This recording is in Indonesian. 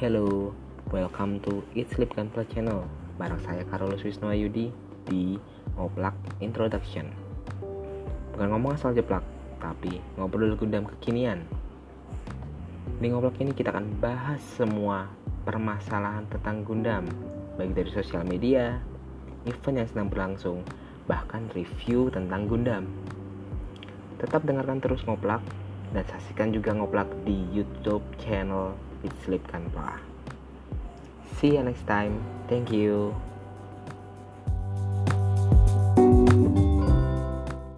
Hello, welcome to Eat Sleep Play Channel. Bareng saya Carlos Wisnuwayudi di Ngoplak Introduction. Bukan ngomong asal jeplak, tapi ngobrol Gundam kekinian. Di Ngoplak ini kita akan bahas semua permasalahan tentang Gundam, baik dari sosial media, event yang sedang berlangsung, bahkan review tentang Gundam. Tetap dengarkan terus Ngoplak dan saksikan juga Ngoplak di YouTube channel Eat Sleep Play. See you next time. Thank you.